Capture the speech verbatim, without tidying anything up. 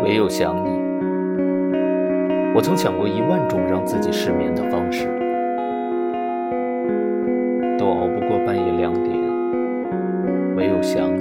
唯有想你。我曾想过一万种让自己失眠的方式，都熬不过半夜两点，唯有想你。